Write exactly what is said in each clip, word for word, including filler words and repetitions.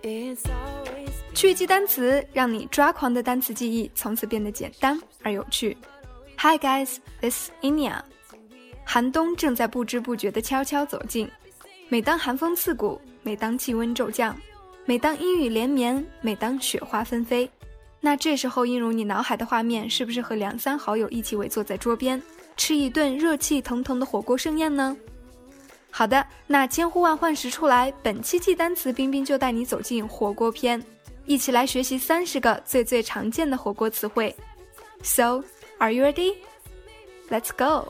趣记单词，让你抓狂的单词记忆从此变得简单而有趣。Hi guys, this is Inia。 寒冬正在不知不觉地悄悄走近，每当寒风刺骨，每当气温骤降，每当阴雨连绵，每当雪花纷飞，那这时候映入你脑海的画面是不是和两三好友一起围坐在桌边，吃一顿热气腾腾的火锅盛宴呢？好的，那千呼万唤始出来，本期记单词冰冰就带你走进火锅篇，一起来学习三十个最最常见的火锅词汇。 So, are you ready? Let's go!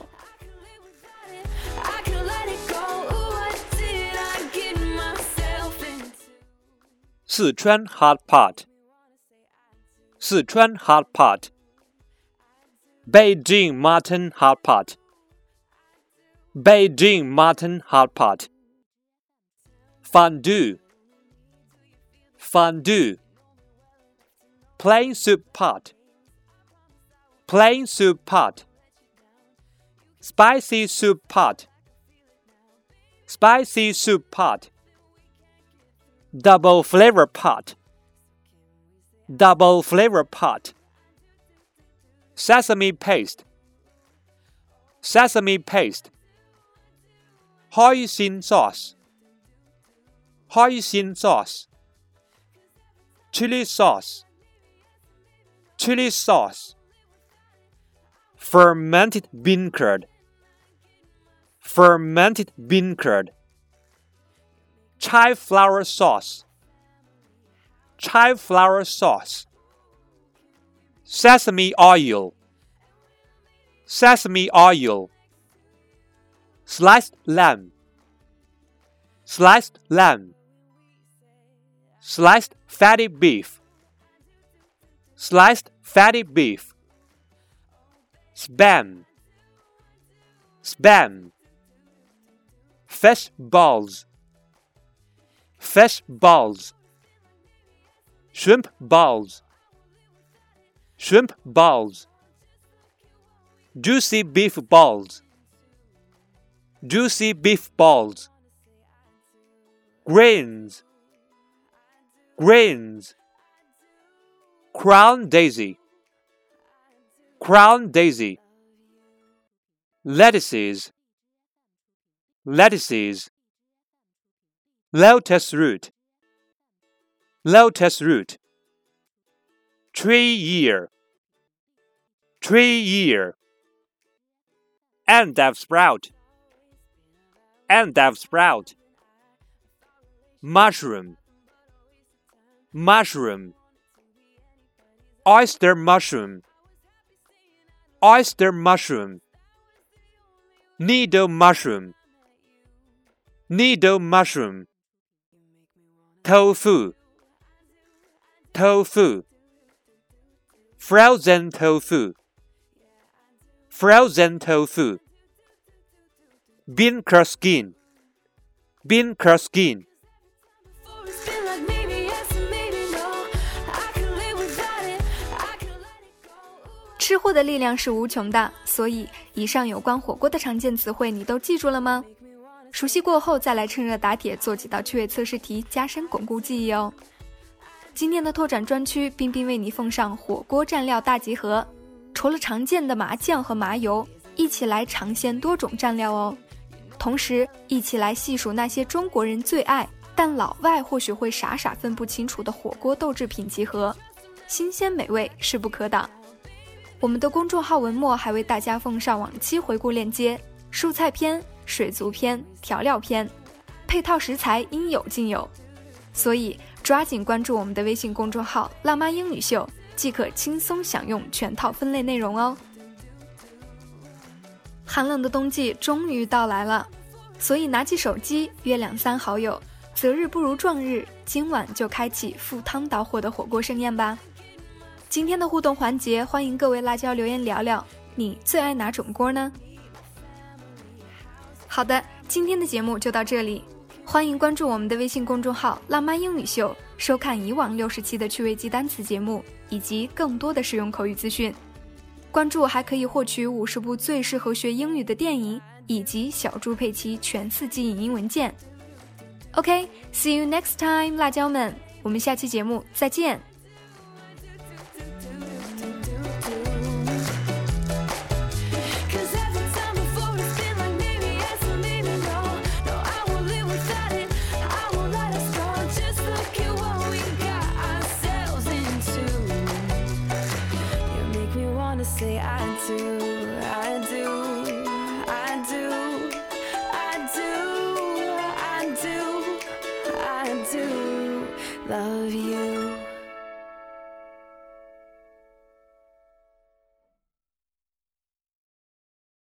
四川 hot pot 四川 hot pot Beijing mutton hot pot Beijing mutton hot pot Fondue Fondue Plain soup pot Plain soup pot Spicy soup pot Spicy soup pot Double flavor pot Double flavor pot Sesame paste Sesame paste Hoisin sauce Hoisin sauce Chili sauce Chili sauce Fermented bean curd Fermented bean curd Chai flour sauce Chai flour sauce Sesame oil Sesame oil Sliced lamb Sliced lamb Sliced fatty beef Sliced fatty beef Spam Spam Fish balls Fish balls Shrimp balls Shrimp balls Juicy beef balls Juicy beef balls Grains Grains Crown daisy Crown daisy Lettuces Lettuces Lotus root Lotus root Tree year Tree year Endive sprout Endive sprout Mushroom Mushroom Oyster mushroom Oyster mushroom Needle mushroom Needle mushroom Tofu Tofu Frozen tofu Frozen tofu Bean curd skin Bean curd skin 吃货的力量是无穷的，所以以上有关火锅的常见词汇你都记住了吗？熟悉过后再来趁热打铁做几道趣味测试题，加深巩固记忆哦。今天的拓展专区，冰冰为你奉上火锅蘸料大集合，除了常见的麻酱和麻油，一起来尝鲜多种蘸料哦。同时一起来细数那些中国人最爱但老外或许会傻傻分不清楚的火锅豆制品集合，新鲜美味势不可挡。我们的公众号文末还为大家奉上往期回顾链接，蔬菜篇、水族篇、调料篇，配套食材应有尽有，所以抓紧关注我们的微信公众号辣妈英语秀，即可轻松享用全套分类内容哦。寒冷的冬季终于到来了，所以拿起手机约两三好友，择日不如撞日，今晚就开启赴汤蹈火的火锅盛宴吧。今天的互动环节，欢迎各位辣椒留言聊聊你最爱哪种锅呢？好的，今天的节目就到这里，欢迎关注我们的微信公众号辣妈英语秀，收看以往六十期的趣味记单词节目以及更多的实用口语资讯。关注还可以获取五十部最适合学英语的电影以及小猪佩奇全四季影音文件。OK, see you next time， 辣椒们， 我们下期节目再见。 Say I do, I do, I do, I do, I do, I do love you.